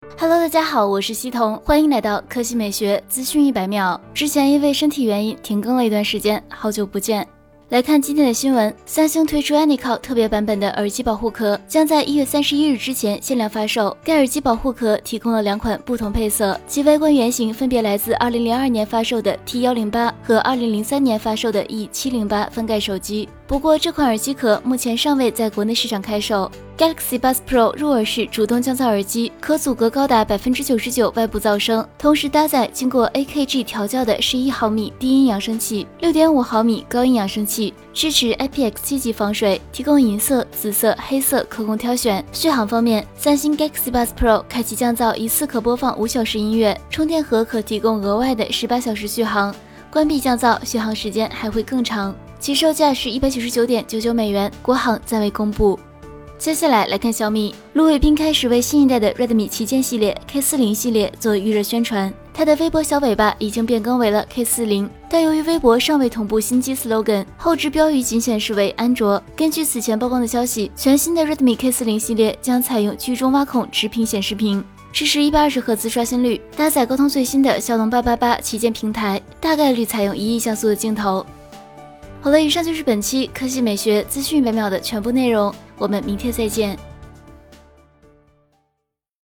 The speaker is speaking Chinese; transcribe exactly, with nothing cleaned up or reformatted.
Hello， 大家好，我是西彤，欢迎来到科技美学资讯一百秒。之前因为身体原因停更了一段时间，好久不见。来看今天的新闻，三星推出 Anycall 特别版本的耳机保护壳，将在一月三十一日之前限量发售。该耳机保护壳提供了两款不同配色，其外观原型分别来自二零零二年发售的 T 一零八 和二零零三年发售的 E 七零八翻盖手机。不过这款耳机壳目前尚未在国内市场开售。Galaxy Buds Pro 入耳式主动降噪耳机，可阻隔高达 百分之九十九 外部噪声，同时搭载经过 A K G 调教的十一毫米低音扬声器、六点五毫米高音扬声器，支持 I P X 七级防水，提供银色、紫色、黑色可供挑选。续航方面，三星 Galaxy Buds Pro 开启降噪一次可播放五小时音乐，充电盒可提供额外的十八小时续航，关闭降噪续航时间还会更长。其售价是一百九十九点九九美元，国行暂未公布。接下来来看小米，卢伟斌开始为新一代的 Redmi 旗舰系列 K 四零 系列做预热宣传。他的微博小尾巴已经变更为了 K 四零，但由于微博尚未同步新机 slogan， 后置标语仅显示为安卓。根据此前曝光的消息，全新的 Redmi K 四零 系列将采用居中挖孔直屏显示屏，支持一百二十赫兹刷新率，搭载高通最新的骁龙八八八旗舰平台，大概率采用一亿像素的镜头。好了，以上就是本期科技美学资讯一百秒的全部内容，我们明天再见。